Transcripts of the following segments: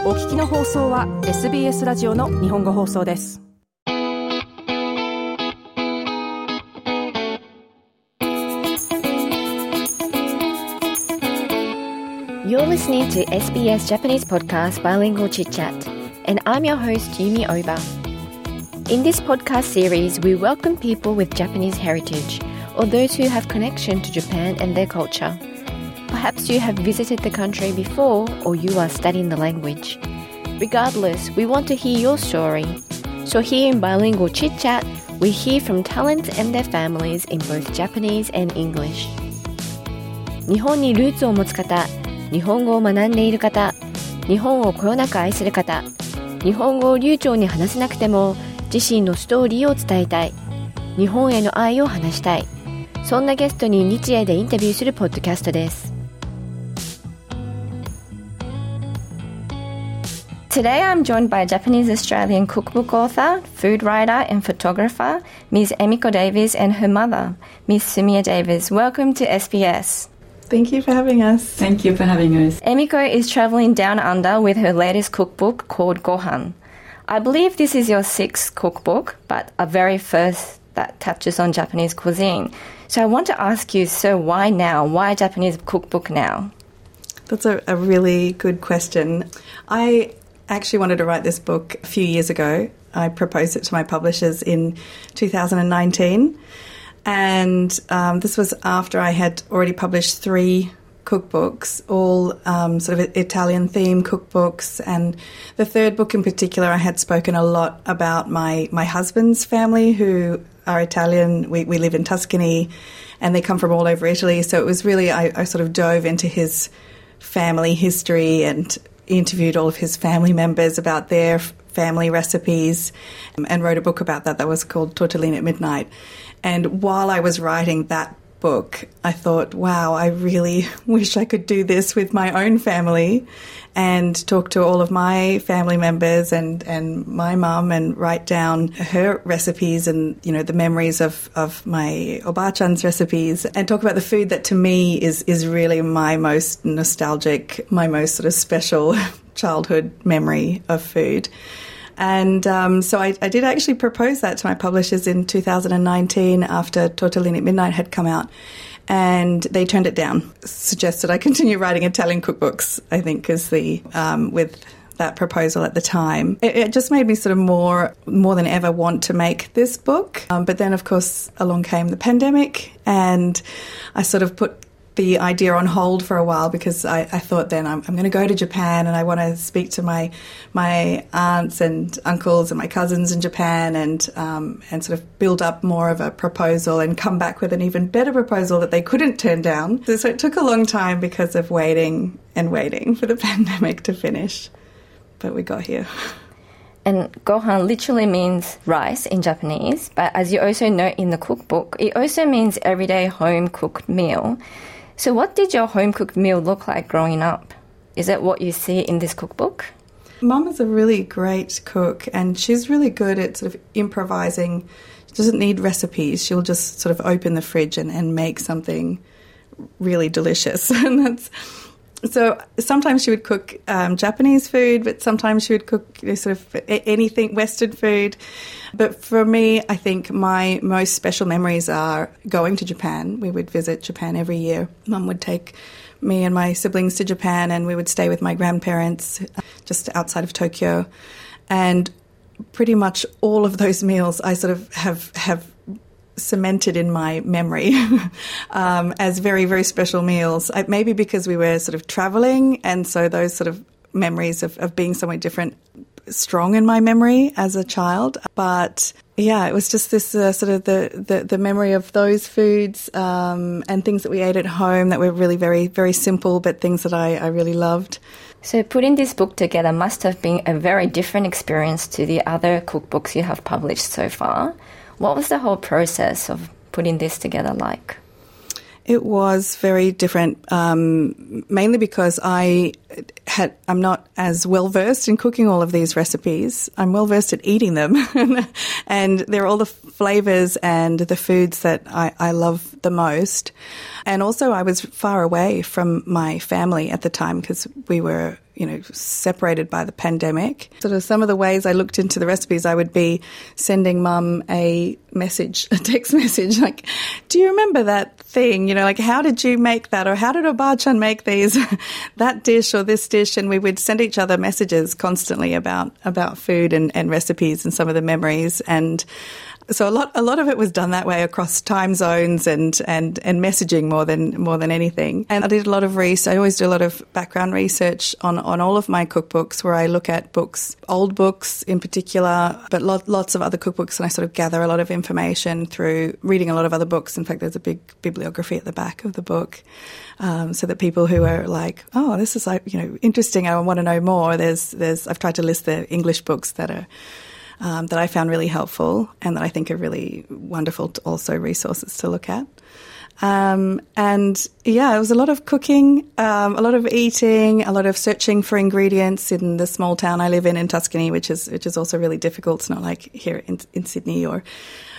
お聞きの放送は SBS ラジオの日本語放送です。 You're listening to SBS Japanese podcast Bilingual Chit Chat, and I'm your host Yumi Oba. In this podcast series, we welcome people with Japanese heritage or those who have connection to Japan and their culture. Perhaps you have visited the country before or you are studying the language. Regardless, we want to hear your story. So here in Bilingual Chit Chat, we hear from talents and their families in both Japanese and English. 日本にルーツを持つ方、日本語を学んでいる方、日本をこよなく愛する方、日本語を流暢に話せなくても自身のストーリーを伝えたい、日本への愛を話したい、そんなゲストに日英でインタビューするポッドキャストです。Today I'm joined by Japanese-Australian cookbook author, food writer and photographer, Ms. Emiko Davies and her mother, Ms. Sumiya Davies. Welcome to SBS. Thank you for having us. Thank you for having us. Emiko is travelling down under with her latest cookbook called Gohan. I believe this is your sixth cookbook, but a very first that touches on Japanese cuisine. So I want to ask you, so why now? Why a Japanese cookbook now? That's a really good question. I actually wanted to write this book a few years ago. I proposed it to my publishers in 2019. And this was after I had already published 3 cookbooks, all sort of Italian-themed cookbooks. And the third book in particular, I had spoken a lot about my husband's family, who are Italian. We live in Tuscany, and they come from all over Italy. So it was really, I sort of dove into his family history and interviewed all of his family members about their family recipes and wrote a book about that was called Tortellini at Midnight. And while I was writing that book, I thought, wow, I really wish I could do this with my own family and talk to all of my family members and my mum and write down her recipes and, you know, the memories of my Oba-chan's recipes and talk about the food that to me is really my most nostalgic, my most sort of special childhood memory of food. And so I did actually propose that to my publishers in 2019 after Tortellini at Midnight had come out. And they turned it down, suggested I continue writing Italian cookbooks, I think, is the with that proposal at the time. It just made me sort of more than ever want to make this book. But then, of course, along came the pandemic, and I sort of put the idea on hold for a while because I thought then I'm going to go to Japan and I want to speak to my aunts and uncles and my cousins in Japan and sort of build up more of a proposal and come back with an even better proposal that they couldn't turn down. So it took a long time because of waiting for the pandemic to finish. But we got here. And gohan literally means rice in Japanese, but as you also note in the cookbook, it also means everyday home-cooked meal. So what did your home-cooked meal look like growing up? Is it what you see in this cookbook? Mum is a really great cook and she's really good at sort of improvising. She doesn't need recipes. She'll just sort of open the fridge and make something really delicious. And so sometimes she would cook Japanese food, but sometimes she would cook sort of anything, Western food. But for me, I think my most special memories are going to Japan. We would visit Japan every year. Mum would take me and my siblings to Japan and we would stay with my grandparents just outside of Tokyo. And pretty much all of those meals I sort of have cemented in my memory as very, very special meals. Maybe because we were sort of travelling, and so those sort of memories of being somewhere different strong in my memory as a child. But yeah, it was just this sort of the memory of those foods and things that we ate at home that were really very, very simple, but things that I really loved. So putting this book together must have been a very different experience to the other cookbooks you have published so far. What was the whole process of putting this together like? It was very different, mainly because I'm not as well versed in cooking all of these recipes. I'm well versed at eating them, and they're all the flavors and the foods that I love the most. And also, I was far away from my family at the time because we were, separated by the pandemic. Sort of some of the ways I looked into the recipes, I would be sending Mum a text message, like, do you remember that thing? How did you make that? Or how did Obachan make that dish or this dish? And we would send each other messages constantly about food and recipes and some of the memories. And so a lot of it was done that way across time zones and messaging more than anything. And I did a lot of research. I always do a lot of background research on all of my cookbooks, where I look at books, old books in particular, but lots of other cookbooks, and I sort of gather a lot of information through reading a lot of other books. In fact, there's a big bibliography at the back of the book, so that people who are like, oh, this is interesting, I want to know more. I've tried to list the English books that I found really helpful and that I think are really wonderful resources to look at. It was a lot of cooking, a lot of eating, a lot of searching for ingredients in the small town I live in Tuscany, which is also really difficult. It's not like here in Sydney or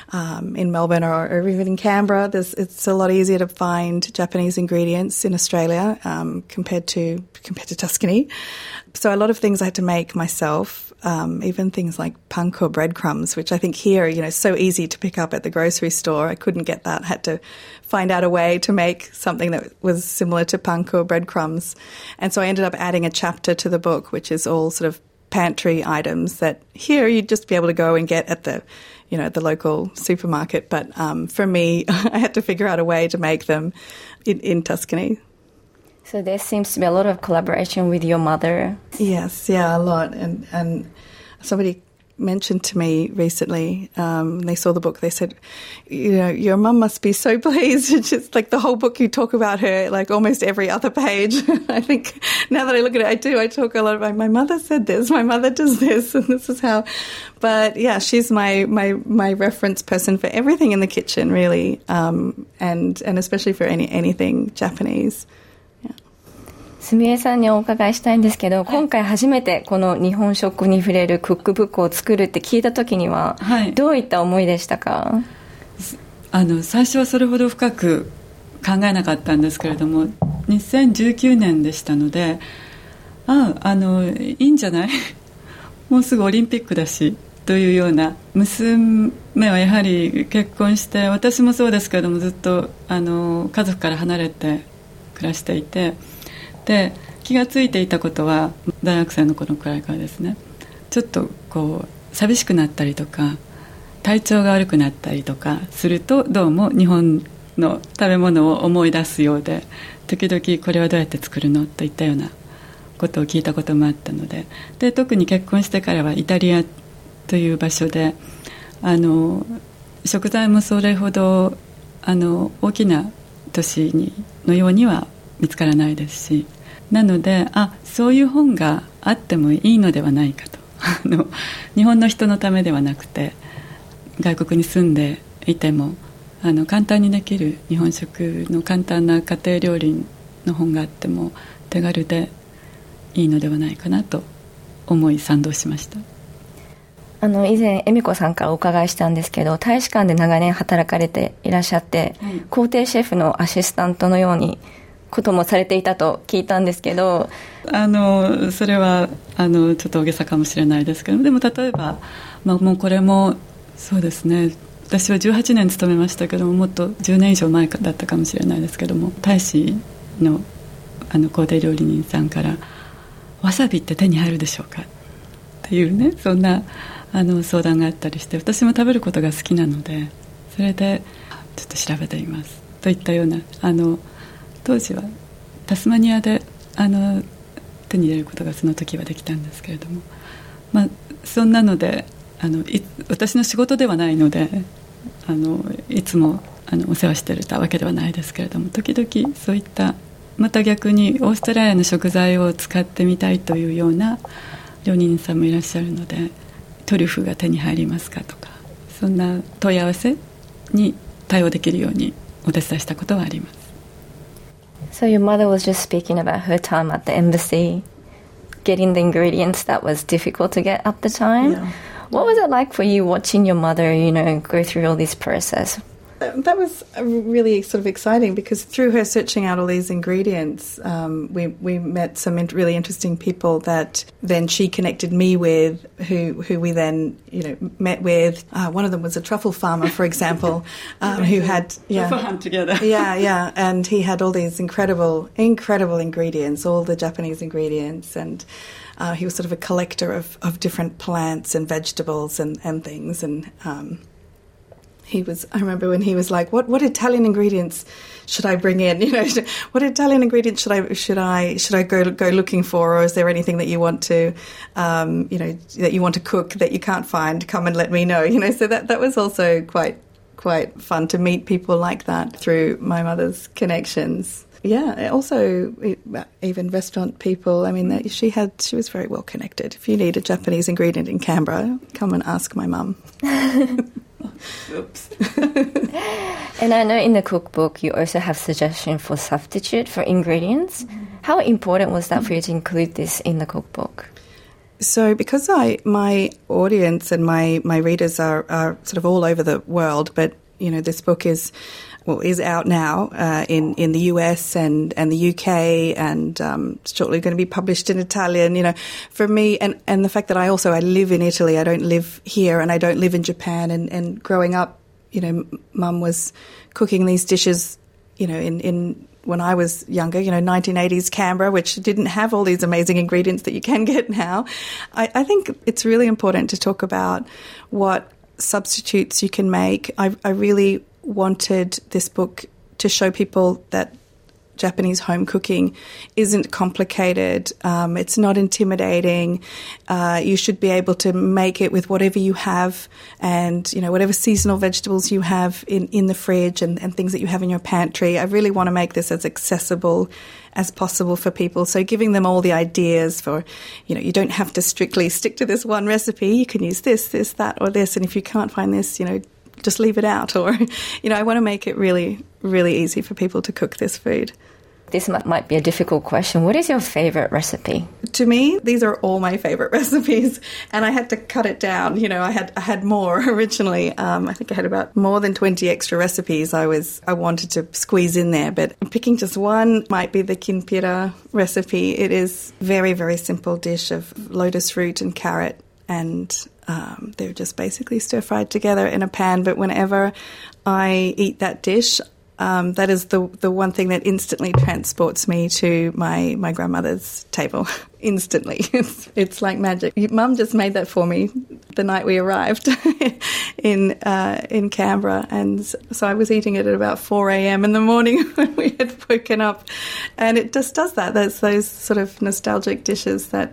in Melbourne or even in Canberra. It's a lot easier to find Japanese ingredients in Australia compared to Tuscany. So a lot of things I had to make myself. Even things like panko breadcrumbs, which I think here, is so easy to pick up at the grocery store. I couldn't get that. Had to find out a way to make something that was similar to panko breadcrumbs. And so I ended up adding a chapter to the book, which is all sort of pantry items that here you'd just be able to go and get at the local supermarket. But for me, I had to figure out a way to make them in Tuscany. So there seems to be a lot of collaboration with your mother. Yes, yeah, a lot. And somebody mentioned to me recently, they saw the book, they said, your mum must be so pleased. It's just like the whole book you talk about her, like almost every other page. I think now that I look at it, I talk a lot about, my mother said this, my mother does this, and this is how. But yeah, she's my reference person for everything in the kitchen, really, and especially for anything Japanese. すみえさんにお伺いしたいんですけど、今回初めてこの日本食に触れるクックブックを作るって聞いた時には、どういった思いでしたか？ 最初はそれほど深く考えなかったんですけれども、2019年でしたので、いいんじゃないもうすぐオリンピックだしというような。娘はやはり結婚して、私もそうですけれども、ずっと家族から離れて暮らしていて、で気がついていたことは大学生の頃くらいからですね、ちょっと寂しくなったりとか体調が悪くなったりとかすると、どうも日本の食べ物を思い出すようで、時々これはどうやって作るのといったようなことを聞いたこともあったので、特に結婚してからはイタリアという場所で食材もそれほど大きな都市のようには見つからないですし、なのでそういう本があってもいいのではないかと日本の人のためではなくて、外国に住んでいても簡単にできる日本食の簡単な家庭料理の本があっても手軽でいいのではないかなと思い賛同しました。 以前恵美子さんからお伺いしたんですけど、大使館で長年働かれていらっしゃって、皇帝シェフのアシスタントのようにこともされていたと聞いたんですけど、 それはちょっと大げさかもしれないですけど、でも例えば、もうこれもそうですね、私は18年勤めましたけども、もっと10年以上前だったかもしれないですけども、大使の皇帝料理人さんからわさびって手に入るでしょうかっていうね、そんな相談があったりして、私も食べることが好きなので、それでちょっと調べてみますといったような、当時はタスマニアで手に入れることがその時はできたんですけれども、そんなので私の仕事ではないのでいつもお世話していたわけではないですけれども、時々そういった、また逆にオーストラリアの食材を使ってみたいというような料理人さんもいらっしゃるので、トリュフが手に入りますかとか、そんな問い合わせに対応できるようにお手伝いしたことはあります。 So your mother was just speaking about her time at the embassy, getting the ingredients that was difficult to get at the time. Yeah. What was it like for you watching your mother, go through all this process? That was really sort of exciting because through her searching out all these ingredients, we met some really interesting people that then she connected me with, who we then met with. One of them was a truffle farmer, for example, who had truffle hunt together. yeah, and he had all these incredible ingredients, all the Japanese ingredients, and he was sort of a collector of different plants and vegetables and things, and I remember when he was like, what Italian ingredients should I bring in? What Italian ingredients should I go looking for, or is there anything that you want to, that you want to cook that you can't find? Come and let me know. So that was also quite fun to meet people like that through my mother's connections. Yeah, also even restaurant people. I mean, she was very well connected. If you need a Japanese ingredient in Canberra, come and ask my mum. Oops. And I know in the cookbook you also have suggestions for substitute for ingredients. How important was that for you to include this in the cookbook? So because my audience and my readers are sort of all over the world, but this book is out now in the US and the UK, and shortly going to be published in Italian. For me, and the fact that I live in Italy, I don't live here, and I don't live in Japan. And growing up, Mum was cooking these dishes, in when I was younger, 1980s Canberra, which didn't have all these amazing ingredients that you can get now. I think it's really important to talk about what substitutes you can make. I really wanted this book to show people that Japanese home cooking isn't complicated. It's not intimidating. You should be able to make it with whatever you have, and whatever seasonal vegetables you have in the fridge and things that you have in your pantry. I really want to make this as accessible as possible for people. So giving them all the ideas for, you don't have to strictly stick to this one recipe. You can use this, that, or this. And if you can't find this, just leave it out. Or, I want to make it really, really easy for people to cook this food. This might be a difficult question. What is your favorite recipe? To me, these are all my favorite recipes, and I had to cut it down. I had more originally. I think I had about more than 20 extra recipes I wanted to squeeze in there, but picking just one might be the kinpira recipe. It is very, very simple dish of lotus root and carrot, and they're just basically stir-fried together in a pan. But whenever I eat that dish, that is the one thing that instantly transports me to my grandmother's table. Instantly. It's like magic. Mum just made that for me the night we arrived in Canberra, and so I was eating it at about 4 a.m. in the morning when we had woken up, and it just does that. That's those sort of nostalgic dishes that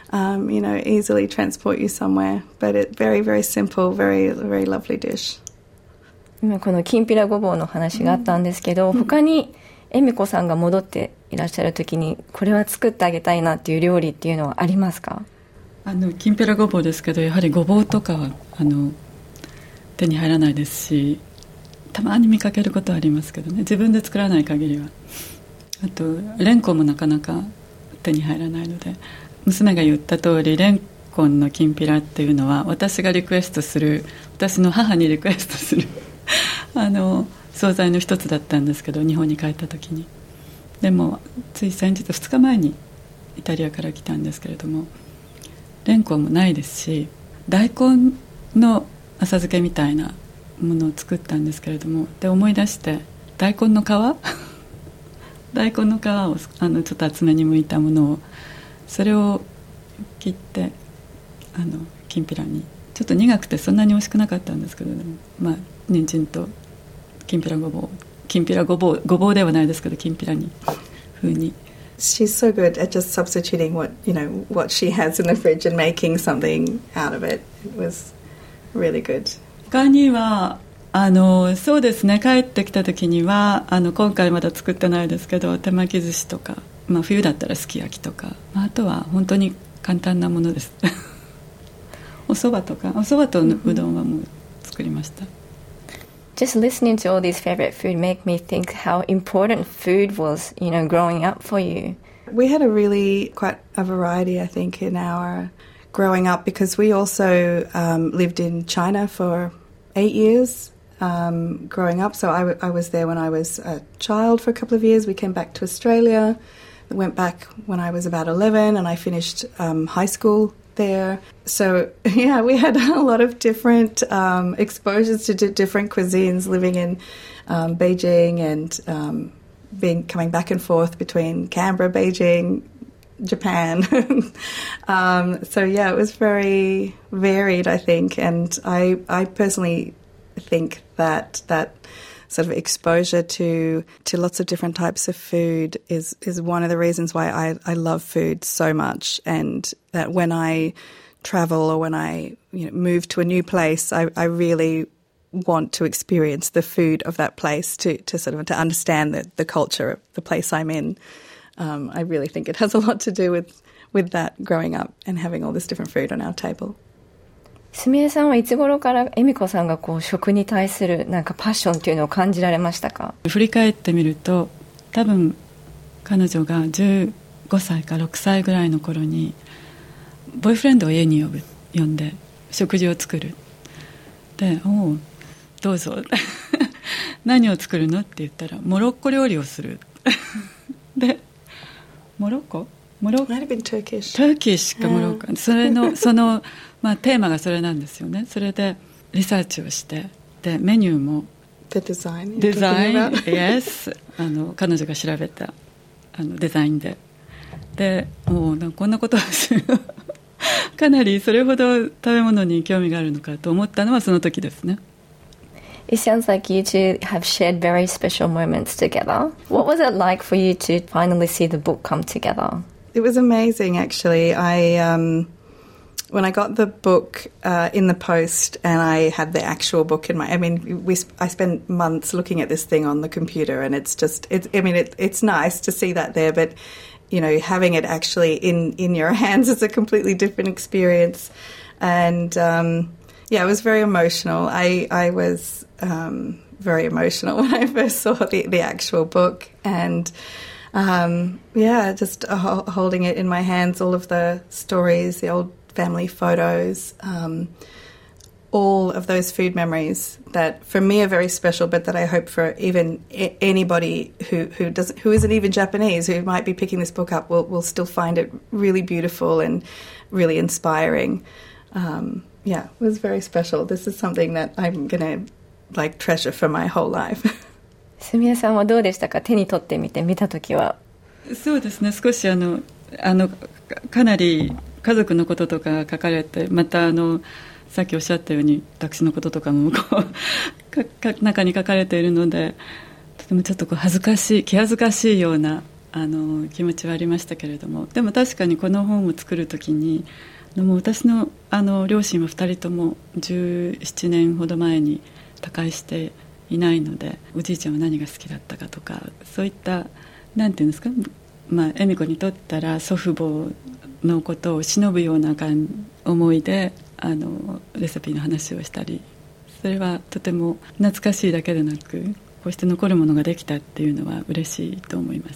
easily transport you somewhere. But it's very, very simple, very, very lovely dish. 今このきんぴらごぼうの話があったんですけど、他に恵美子さんが戻っていらっしゃる時にこれは作ってあげたいなっていう料理っていうのはありますか？ きんぴらごぼうですけど、やはりごぼうとかは手に入らないですし、たまに見かけることはありますけどね、自分で作らない限りは。あとレンコンもなかなか手に入らないので、娘が言った通りレンコンのきんぴらっていうのは私がリクエストする、私の母にリクエストする惣菜の一つだったんですけど、日本に帰った時に。でもつい先日2日前にイタリアから来たんですけれども、レンコンもないですし、大根の浅漬けみたいなものを作ったんですけれども、で思い出して大根の皮大根の皮をちょっと厚めに剥いたものを、それを切ってきんぴらに、ちょっと苦くてそんなに美味しくなかったんですけど、まあ人参ときんぴらごぼうではないですけど、きんぴらに風に。 She's so good at just substituting what she has in the fridge and making something out of it. It was really good. 他にはそうですね、帰ってきた時には今回まだ作ってないですけど、手巻き寿司とか、冬だったらすき焼きとか、あとは本当に簡単なものですお蕎麦とうどんはもう作りました。 Just listening to all these favorite food make me think how important food was, growing up for you. We had quite a variety, I think, in our growing up, because we also lived in China for 8 years growing up. So I was there when I was a child for a couple of years. We came back to Australia, went back when I was about 11, and I finished high school there. So, yeah, we had a lot of different exposures to different cuisines, living in Beijing and coming back and forth between Canberra, Beijing, Japan. So, yeah, it was very varied, I think. And I personally think that sort of exposure to lots of different types of food is one of the reasons why I love food so much, and that when I travel or when I move to a new place, I really want to experience the food of that place to understand the culture of the place I'm in. I really think it has a lot to do with that, growing up and having all this different food on our table. すみれさんはいつ頃から恵美子さんが食に対するなんかパッションっていうのを感じられましたか？ 振り返ってみると、多分彼女が15歳か6歳ぐらいの頃にボーイフレンドを家に呼んで食事を作る。で、おうどうぞ何を作るのって言ったら、モロッコ料理をするで、モロッコ Might have been Turkish. Turkish かモロッコ、それのテーマがそれなんですよね。それでリサーチをして、でメニューも The design. Yes 彼女が調べたデザインでもうこんなことをするかなりそれほど食べ物に興味があるのかと思ったのはその時ですね。 It sounds like you two have shared very special moments together. What was it like for you to finally see the book come together? It was amazing, actually. When I got the book in the post and I had the actual book in I spent months looking at this thing on the computer, and it's nice to see that there, but having it actually in your hands is a completely different experience. And it was very emotional. I was very emotional when I first saw the actual book, and just holding it in my hands, all of the stories, the old family photos, all of those food memories that for me are very special, but that I hope for even anybody who isn't even Japanese, who might be picking this book up, will still find it really beautiful and really inspiring. It was very special. This is something that I'm going to treasure for my whole life. すみれさんはどうでしたか？手に取ってみて見たときは。 そうですね、少しかなり家族のこととか書かれて、またさっきおっしゃったように私のこととかも中に書かれているので、とてもちょっと気恥ずかしいような気持ちはありましたけれども、でも確かにこの本を作るときにもう私の両親は2人とも17年ほど前に他界していないので、おじいちゃんは何が好きだったかとか、そういったなんていうんですか、恵美子にとったら祖父母のことを偲ぶような思いでレシピの話をしたり、それはとても懐かしいだけでなく、こうして残るものができたっていうのは嬉しいと思います。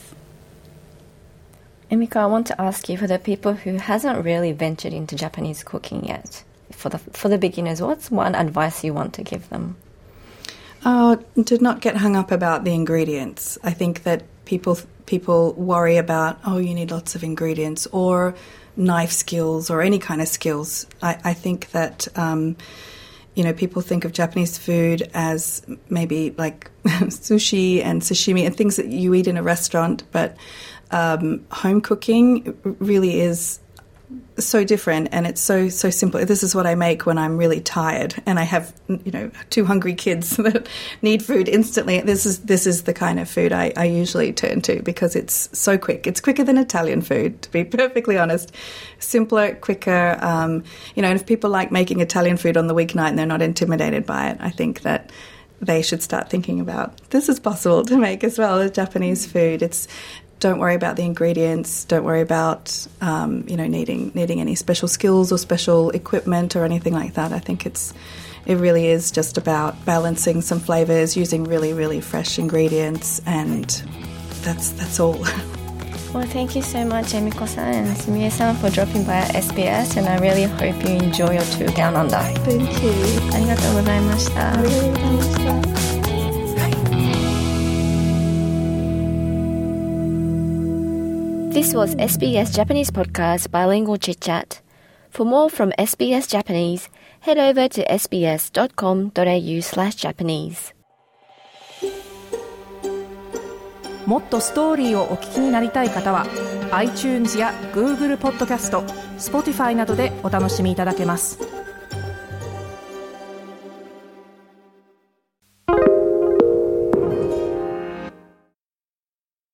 Emiko, I want to ask you, for the people who hasn't really ventured into Japanese cooking yet, for the beginners, what's one advice you want to give them? To not get hung up about the ingredients. I think that people worry about, you need lots of ingredients or knife skills or any kind of skills. I think that, people think of Japanese food as maybe like sushi and sashimi and things that you eat in a restaurant, but home cooking really is so different, and it's so simple. This is what I make when I'm really tired and I have 2 hungry kids that need food instantly. This is the kind of food I usually turn to, because it's so quick. It's quicker than Italian food, to be perfectly honest. Simpler, quicker. And if people like making Italian food on the weeknight and they're not intimidated by it, I think that they should start thinking about this is possible to make as well as Japanese food. Don't worry about the ingredients. Don't worry about needing any special skills or special equipment or anything like that. I think it's it really is just about balancing some flavors, using really, really fresh ingredients, and that's all. Well, thank you so much, Emiko-san and Sumie-san, for dropping by at SBS, and I really hope you enjoy your tour down under. Thank you. ありがとうございました。 ありがとうございました。 This was SBS Japanese Podcast Bilingual Chit Chat. For more from SBS Japanese, head over to sbs.com.au/Japanese. もっとストーリーをお聞きになりたい方は iTunes や Google ポッドキャスト、Spotify などでお楽しみいただけます。